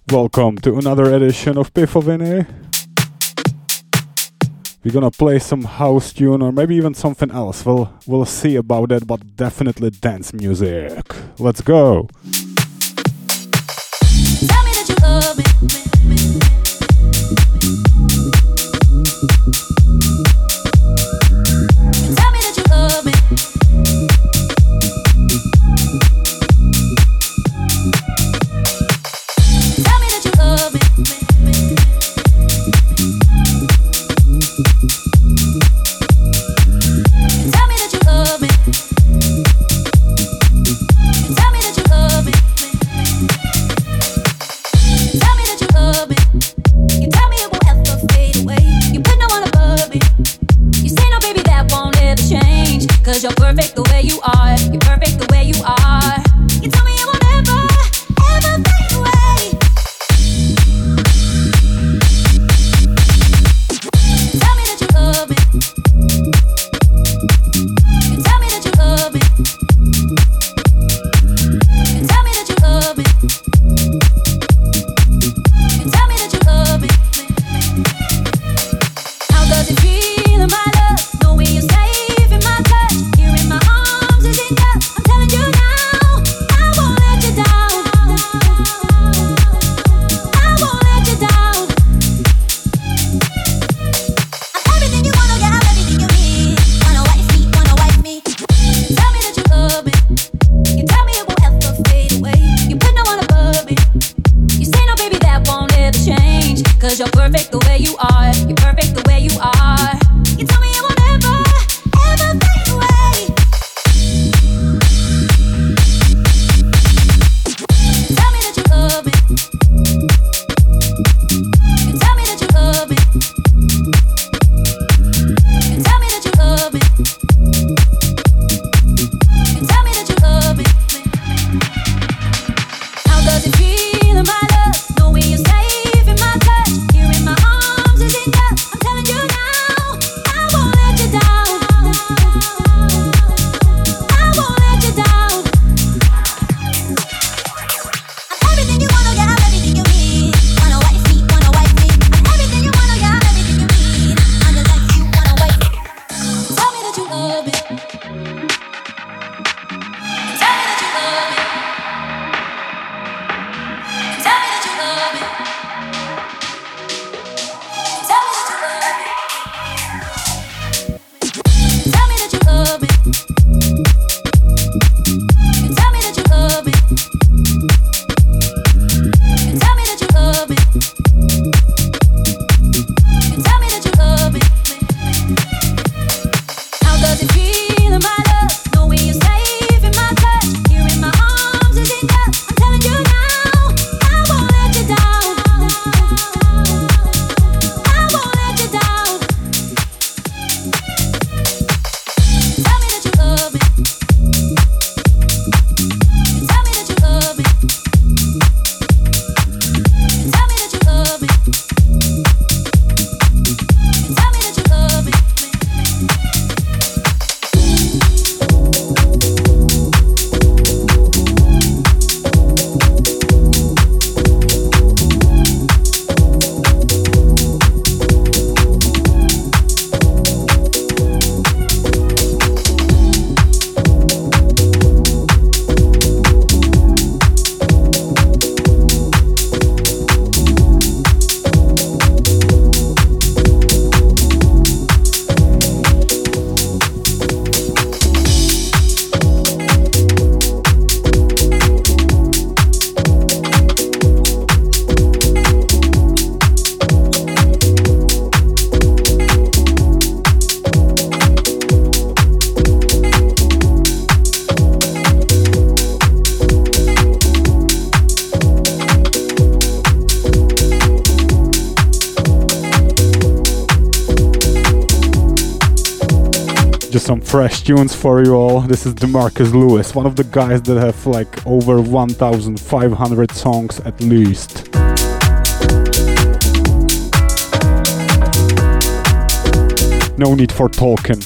Welcome to another edition of Pifoviny. We're gonna play some house tune or maybe even something else. We'll see about that, but definitely dance music. Let's go. Tell me that you love me. Tell me that you love me. Tell me that you love me. Tell me that you love me. Tell me that you love me. Tell me that you love me. You tell me it won't ever fade away. You put no one above me. You say no, baby, that won't ever change. 'Cause you're perfect the way you are. You're perfect the way you are. You tell me it won't ever, ever fade away. Tell me that you love me. You tell me that you love me. You tell me that you love me. You tell me that you love me. How does it feel in my love, knowing you're safe in my touch? You're in my arms, is enough. I'm telling you now, I won't let you down. I won't let you down. I'm everything you wanna get, I'm everything you need. Wanna wife me, wanna wife me. Tell me that you love me. You tell me it won't ever fade away. You put no one above me. You say no, baby, that won't ever change. 'Cause you're perfect the way you are. You're perfect the way you are. You tell me it won't ever, ever fade away. Tell me that you love me. You tell me that you love me. You tell me that you love me. You tell me that you love me. How does it feel in my love, knowing you're safe in my touch? You're in my arms, is enough. I'm telling you now, I won't let you down. I won't let you down. I'm everything you wanna get, I'm everything you need. Wanna wife me, wanna wife me. I'm everything you wanna get, I'm everything you need. I'm just like you, wanna wife me. Tell me that you love me. Tell me that you love me. Tell me that you love me. Tell me that you love me. Tell me that you love me. Tell me that you love me. Tell me that you love me. Tell me that you love me. How does it feel in my love, knowing you're safe in my touch? You're in my arms, is enough. I'm telling you now, I won't let you down. I won't let you down. Tell me that you love me. Tell me that you love me. Tell me that you love me. Tell me that you love me. Just some fresh tunes for you all. This is DeMarcus Lewis, one of the guys that have like over 1,500 songs at least. No need for talking.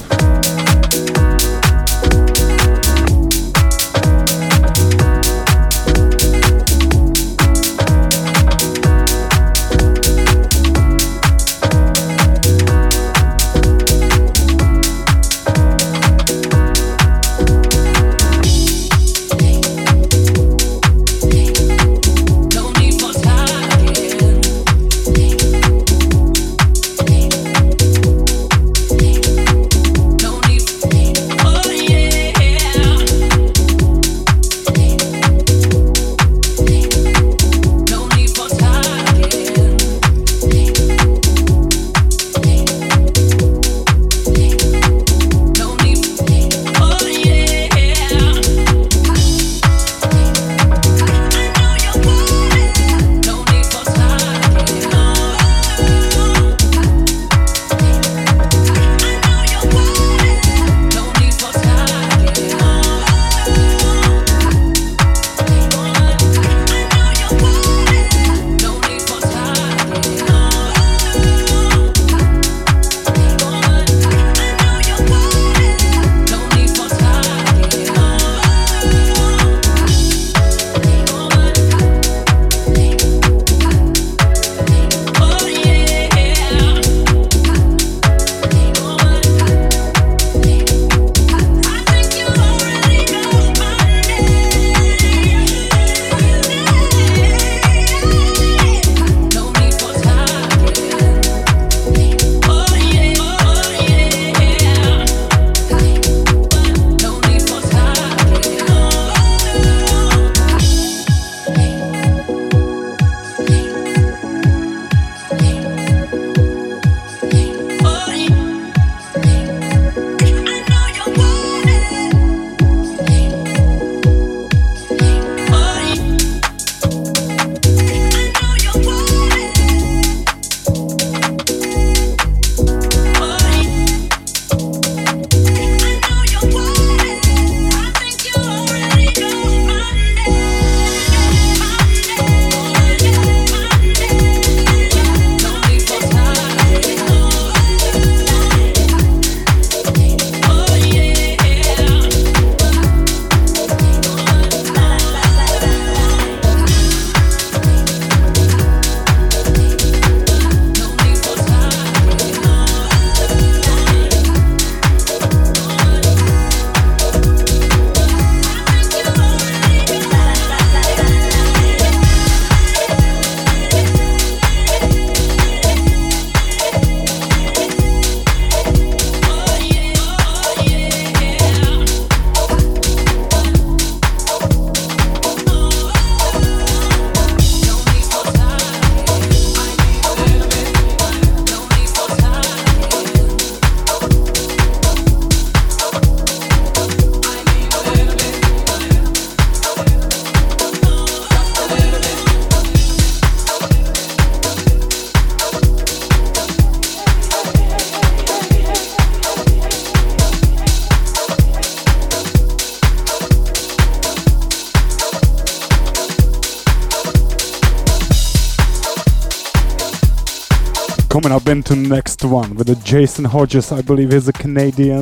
Coming up into next one with a Jason Hodges, I believe he's a Canadian.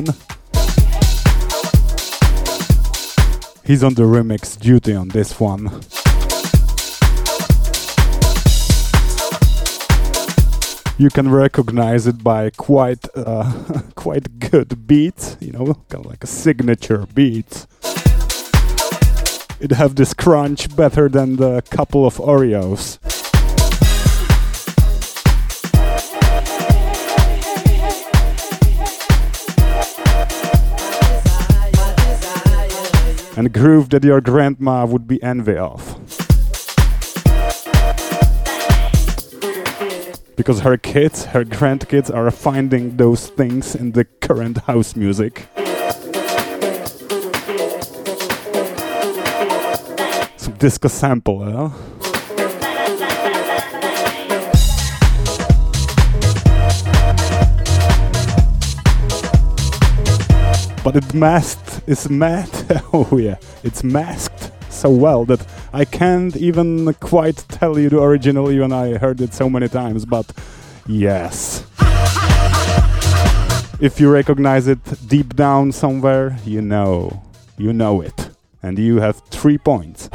He's on the remix duty on this one. You can recognize it by quite good beat, you know, kind of like a signature beat. It have this crunch better than the couple of Oreos. And a groove that your grandma would be envy of. Because her kids, her grandkids are finding those things in the current house music. Some disco sample, huh? But it's masked so well that I can't even quite tell you the original, even I heard it so many times, but yes. If you recognize it deep down somewhere, you know it. And you have 3 points.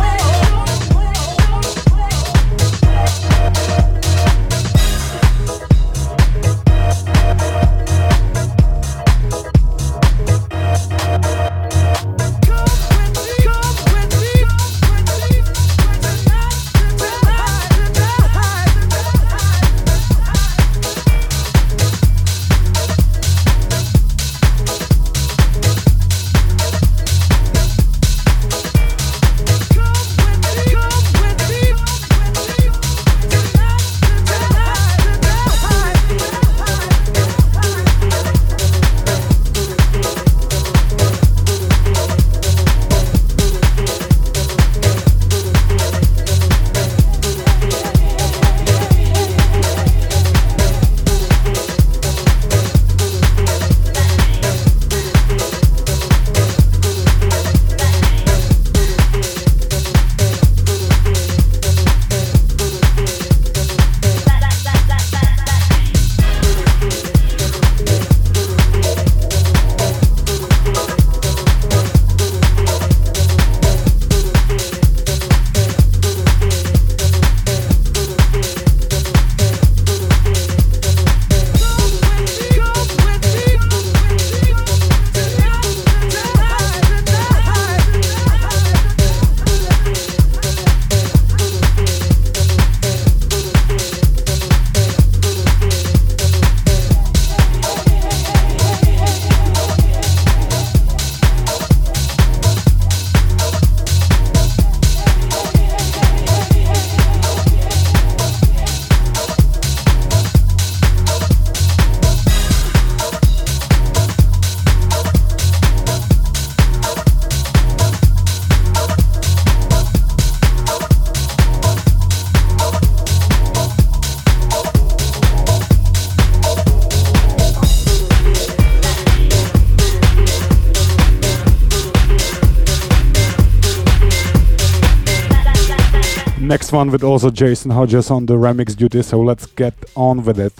Next one with also Jason Hodges on the remix duty, so let's get on with it.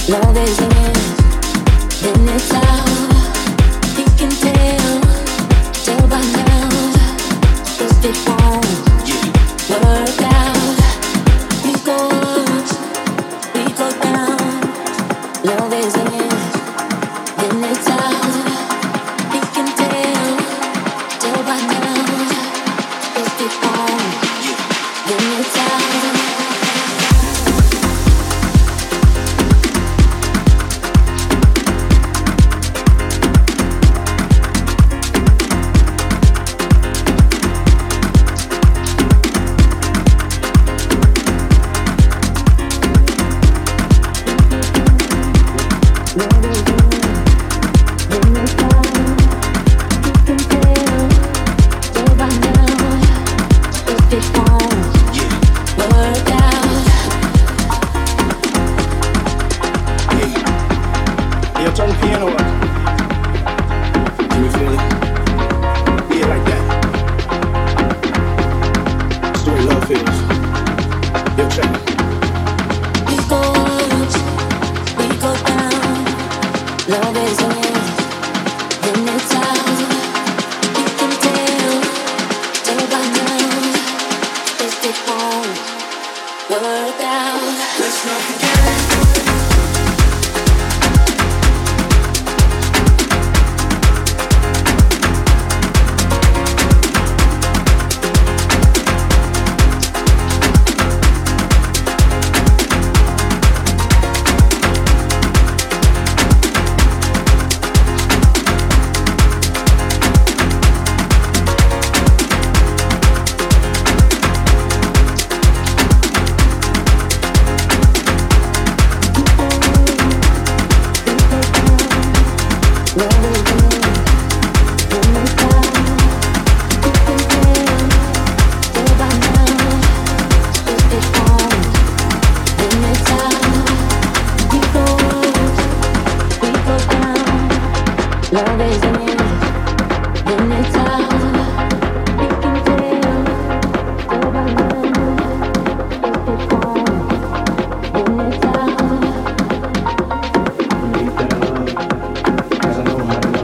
Love is in it, then it's out. You can tell by now if it won't work out. We go up, we go down. Love is in it, then it's out. You can tell by now if it won't, then it's out. Cause I know how to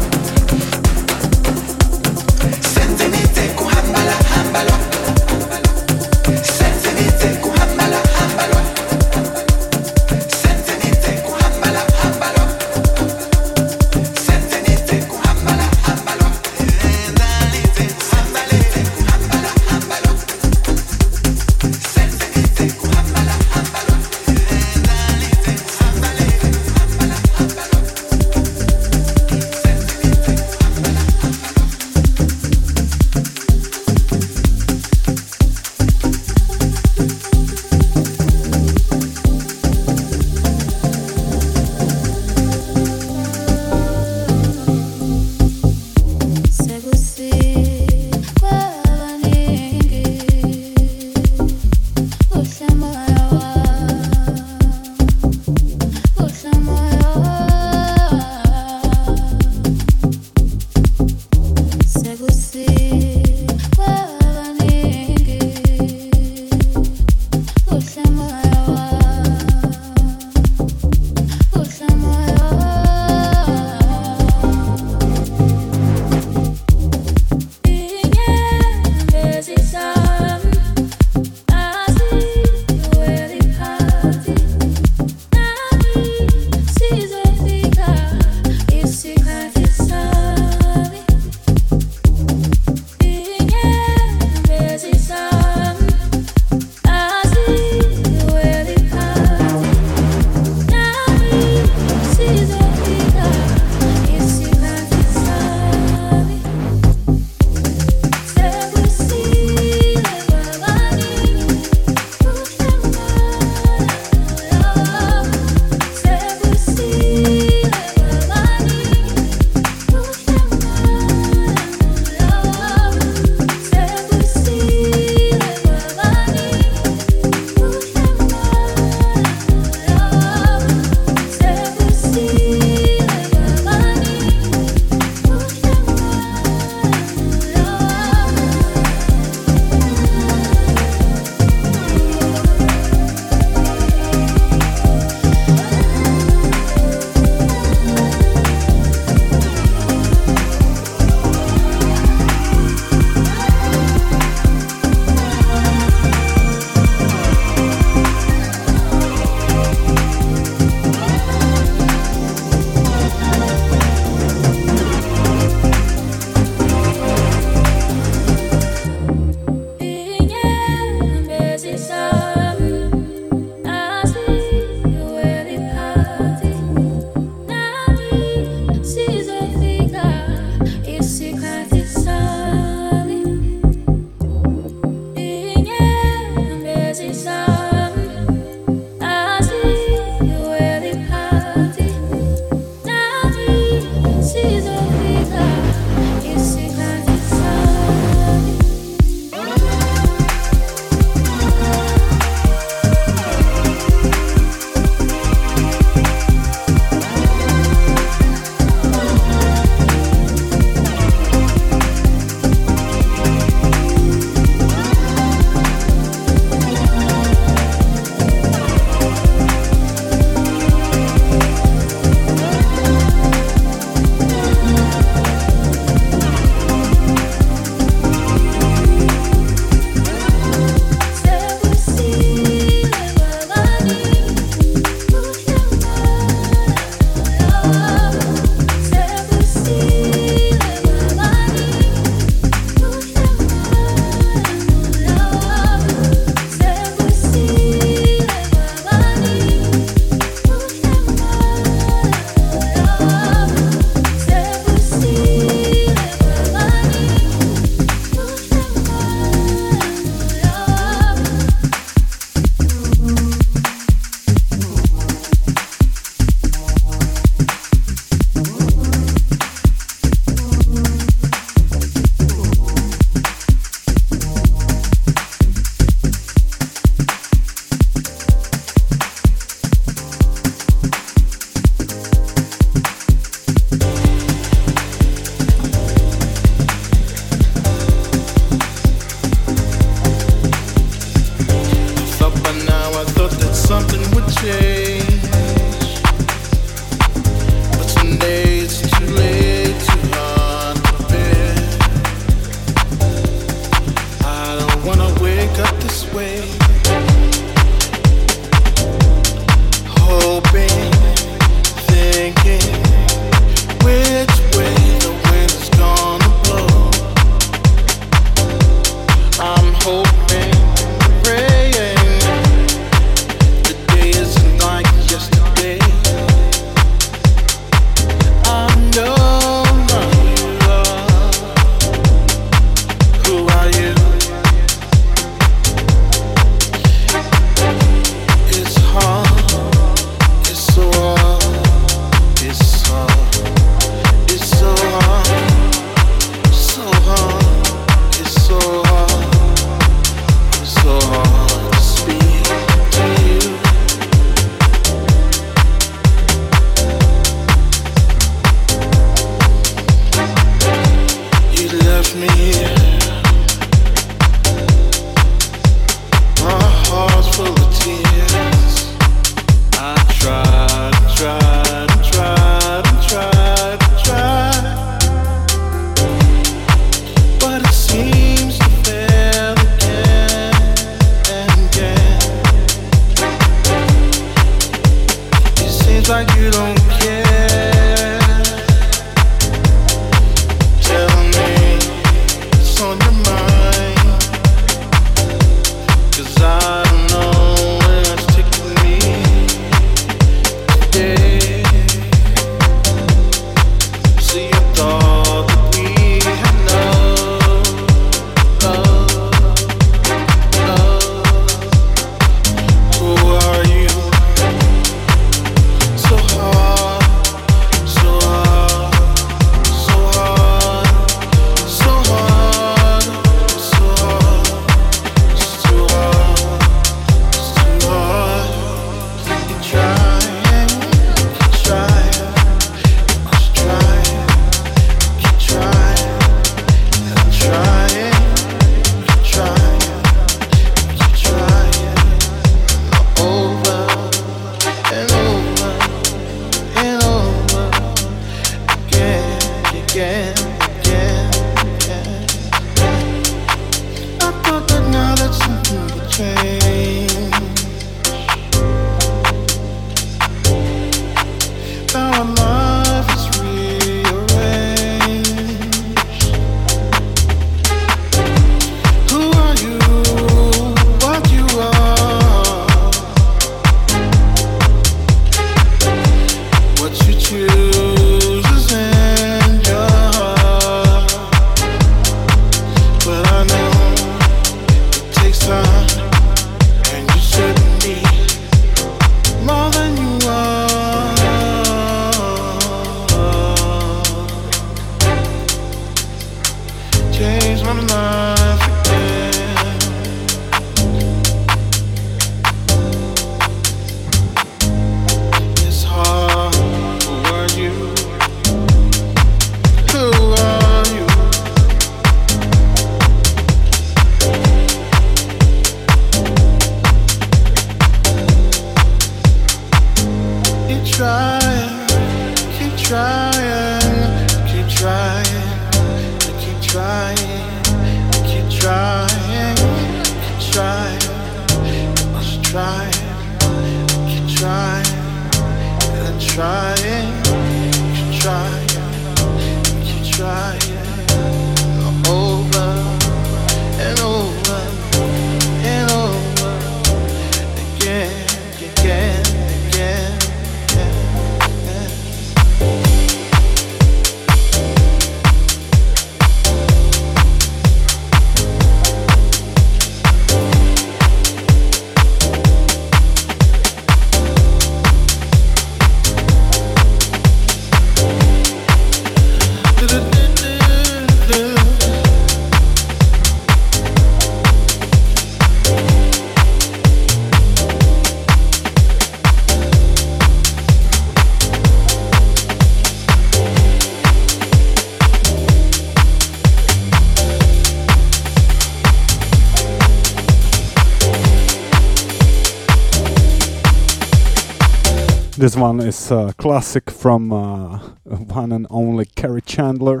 This one is a classic from one and only Kerry Chandler.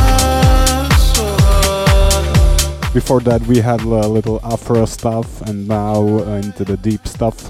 Before that we had a little Afro stuff, and now into the deep stuff.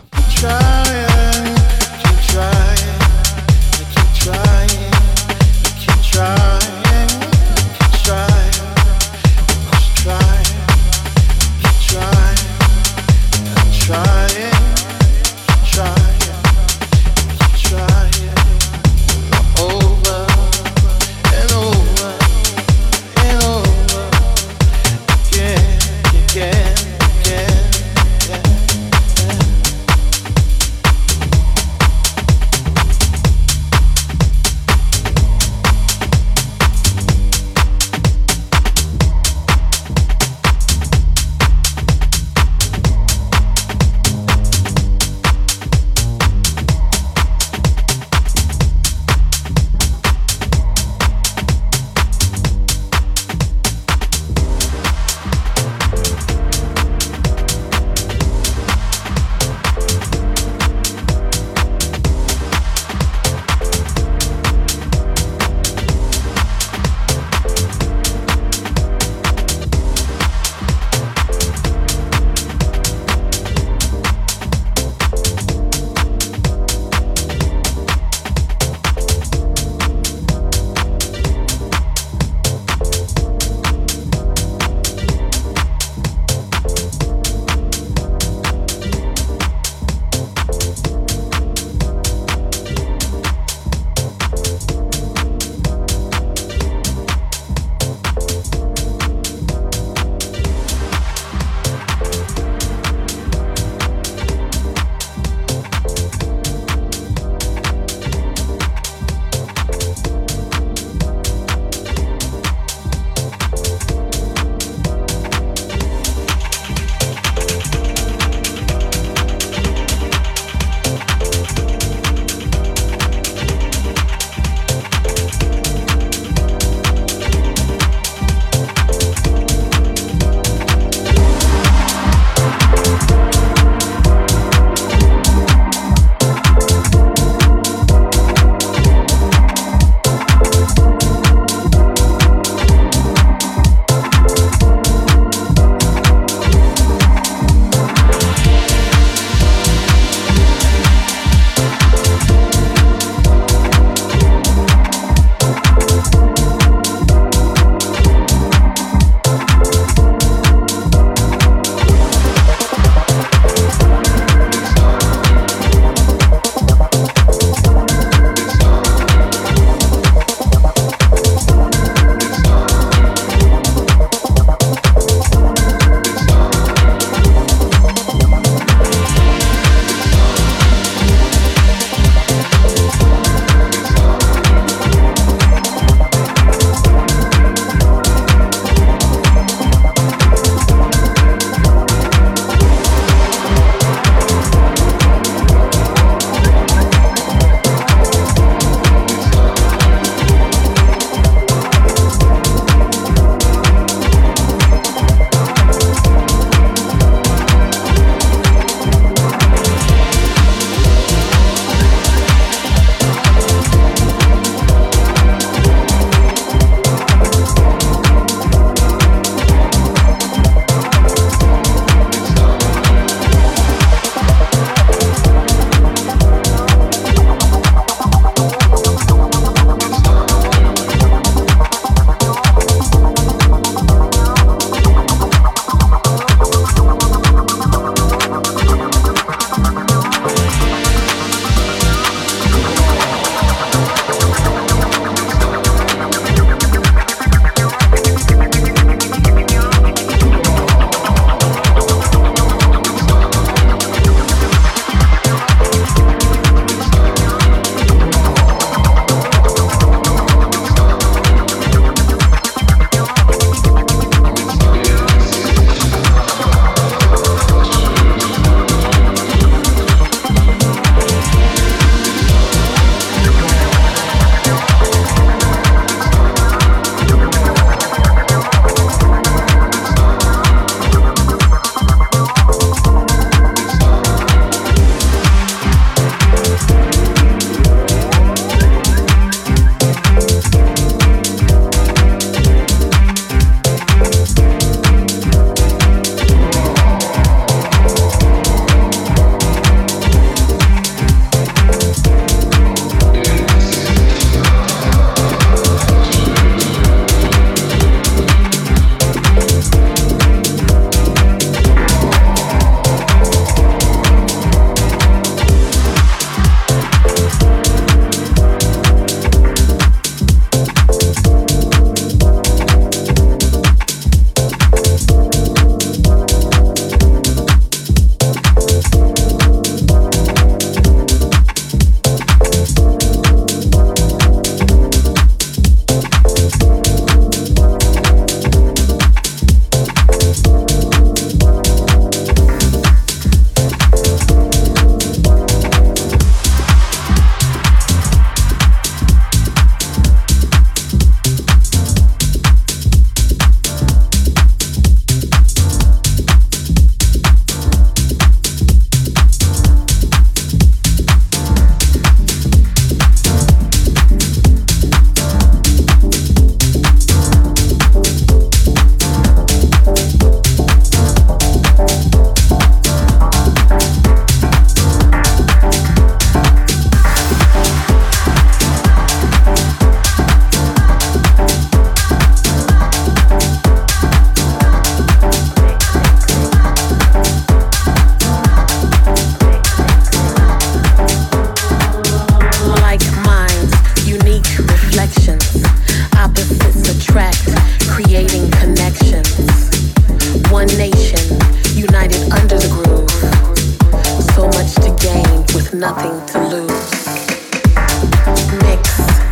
to lose. Mix,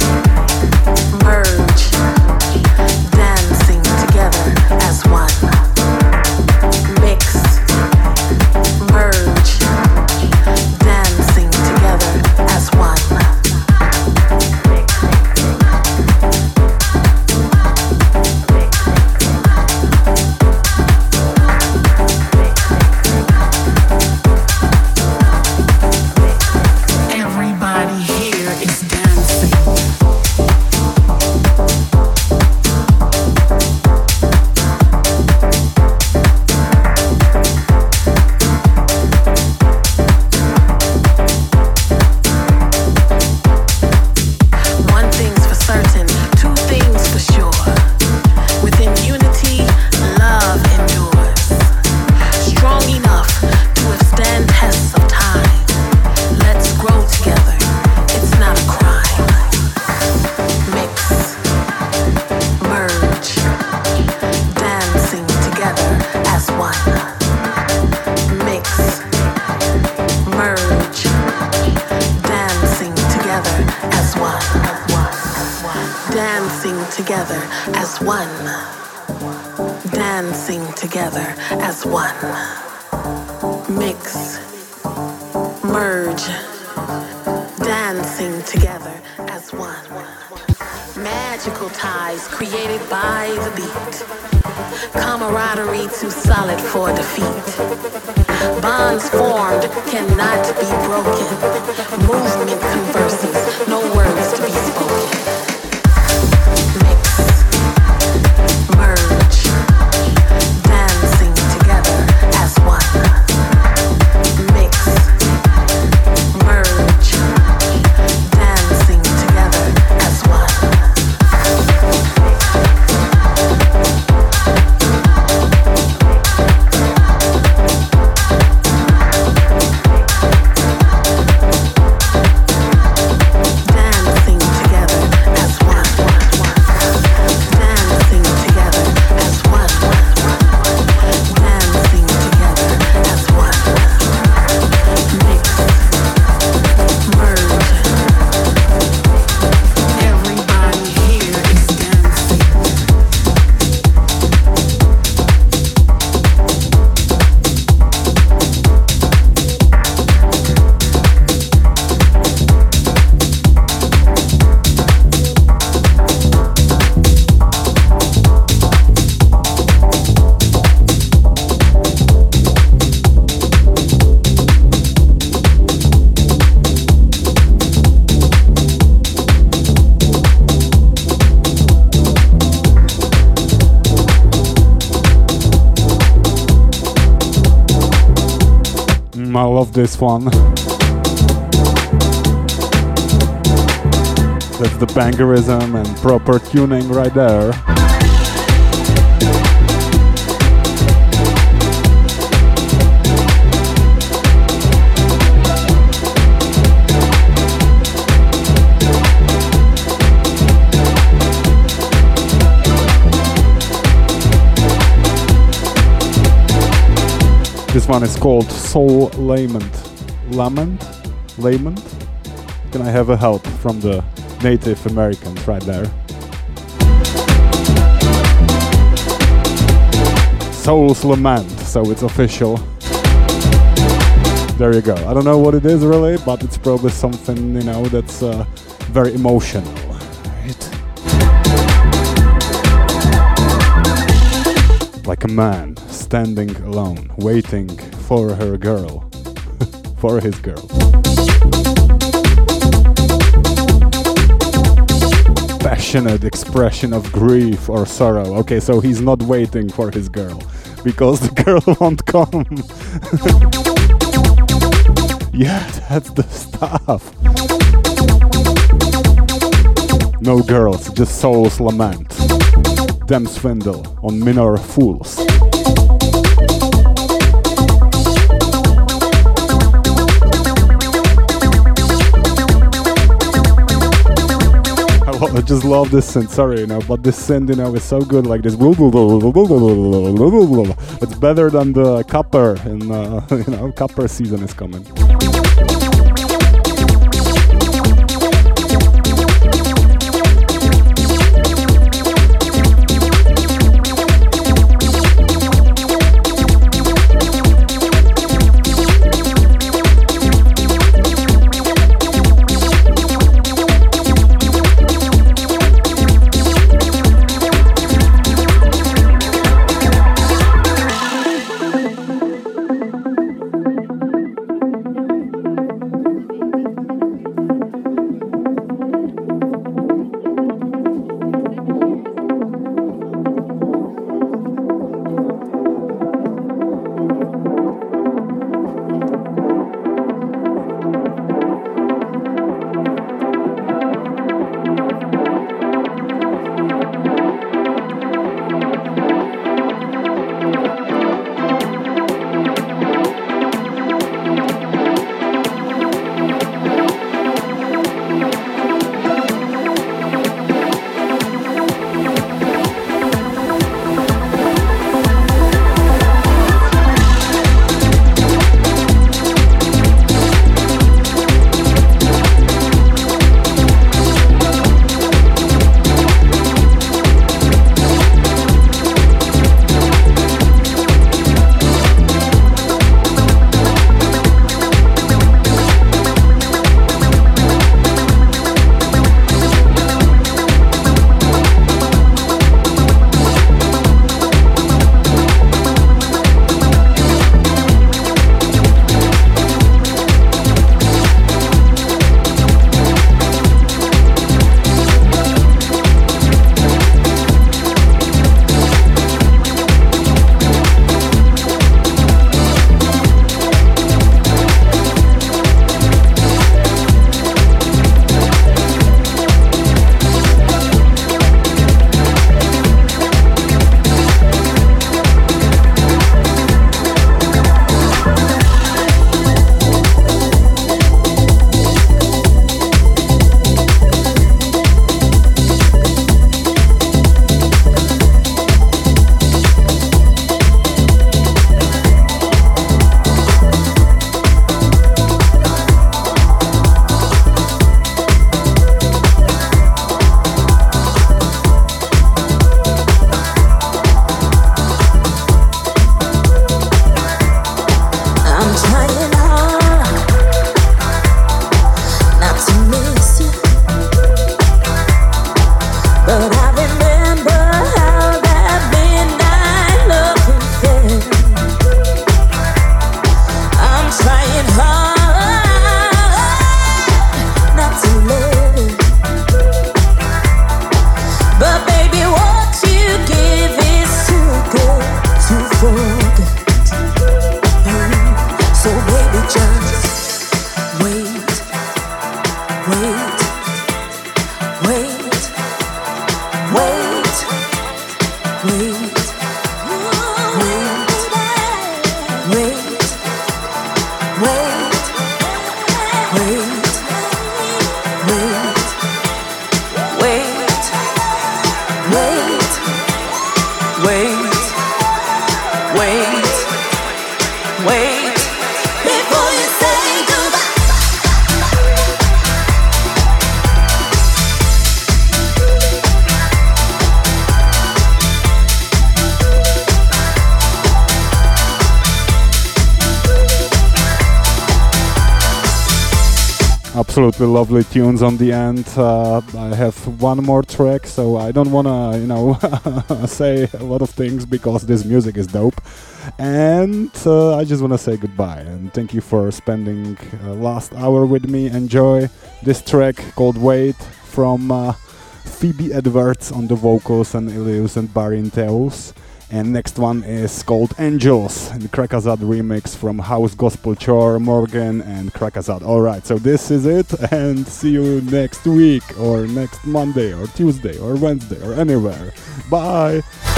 merge, dancing together as one. Mix, merge, dancing together as one. I love this one. That's the bangerism and proper tuning right there. This one is called Soul Lament. Lament? Can I have a help from the Native Americans right there? Soul's Lament, so it's official. There you go. I don't know what it is really, but it's probably something, you know, that's very emotional. Right? Like a man standing alone, waiting for her girl, for his girl. Passionate expression of grief or sorrow. Okay, so he's not waiting for his girl, because the girl won't come. Yeah, that's the stuff. No girls, just Soul's Lament. Dem Swindle on Minor Fools. I just love this synth, sorry, you know, but this synth, you know, is so good, like this. It's better than the copper, and you know, copper season is coming. Wait, wait, wait, wait, wait before you say goodbye. Absolutely lovely tunes on the end. I have one more track, so I don't wanna, say a lot of things because this music is dope. And I just wanna say goodbye and thank you for spending last hour with me. Enjoy this track called Wait from Phoebe Edwards on the vocals and Ilius and Barintheus. And next one is called Angels, the Krakazad remix from House Gospel Chore, Morgan and Krakazad. Alright, so this is it, and see you next week, or next Monday, or Tuesday, or Wednesday, or anywhere. Bye!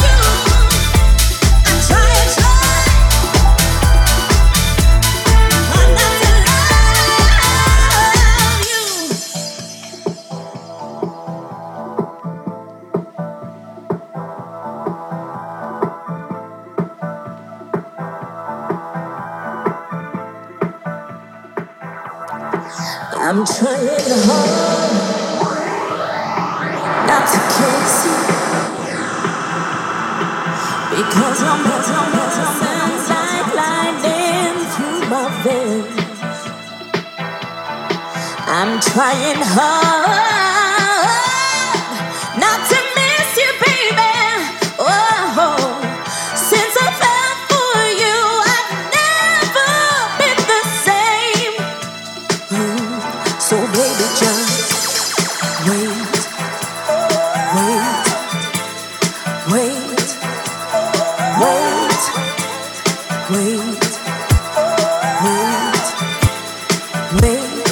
I'm trying hard not to kiss you because your presence like lightning through my veins. I'm trying hard not to miss you, baby. Oh, since I fell for you, I've never been the same. So baby, just wait, wait, wait, wait, wait, wait, wait,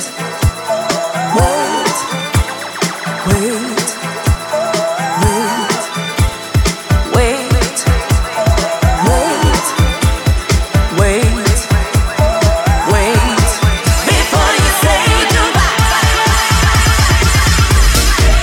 wait, wait, wait, before you say goodbye.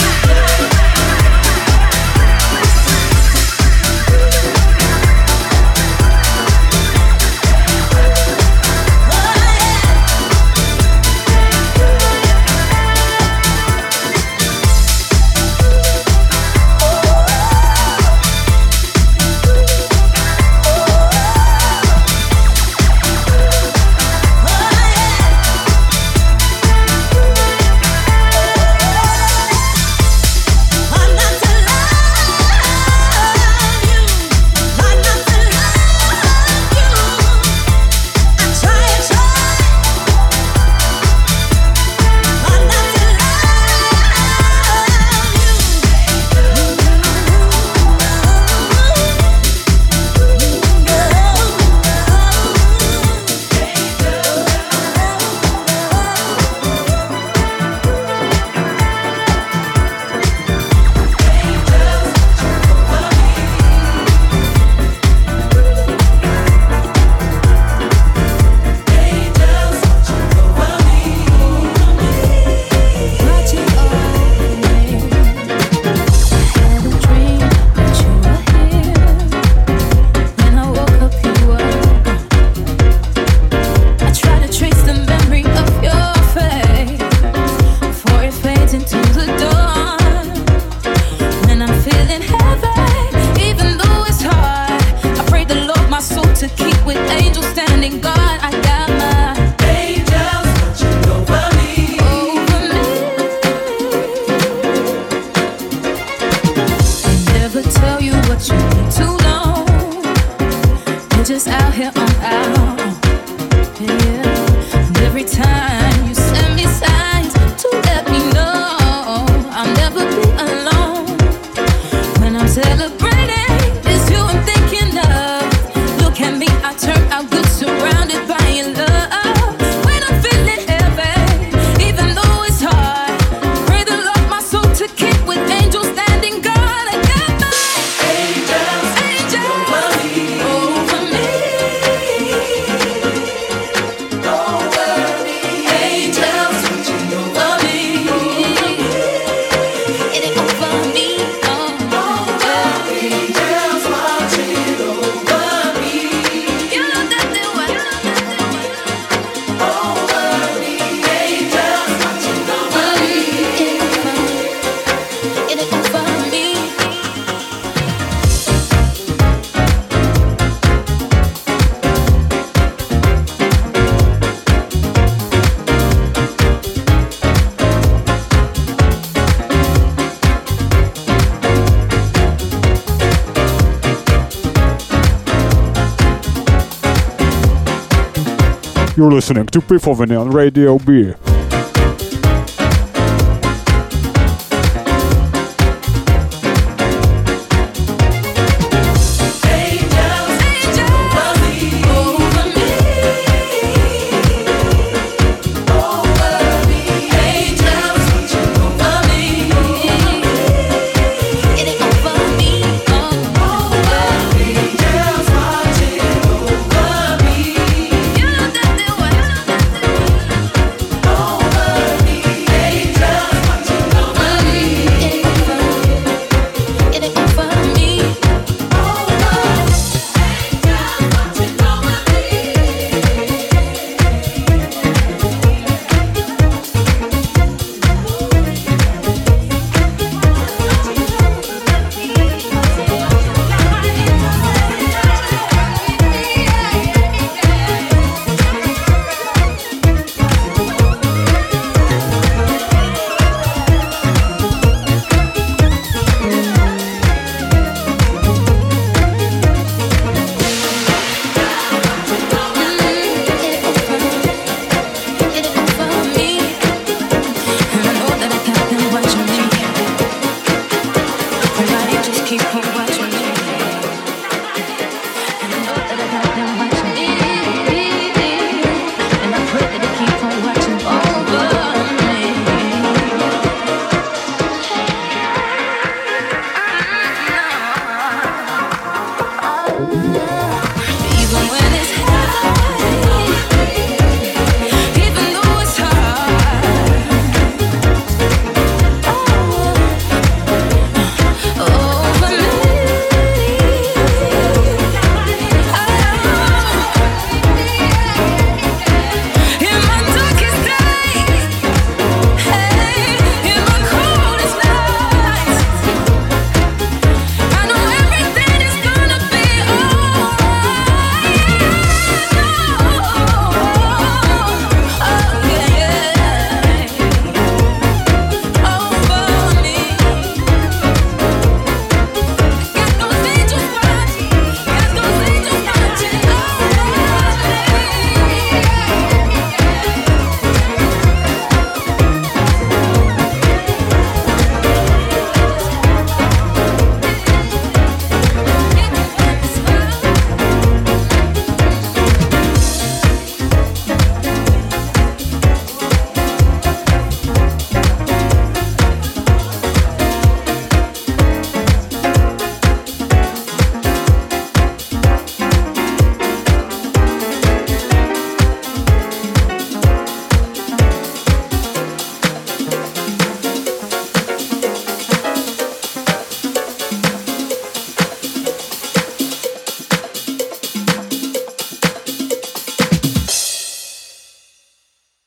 You're listening to Pifoviny on Radio B.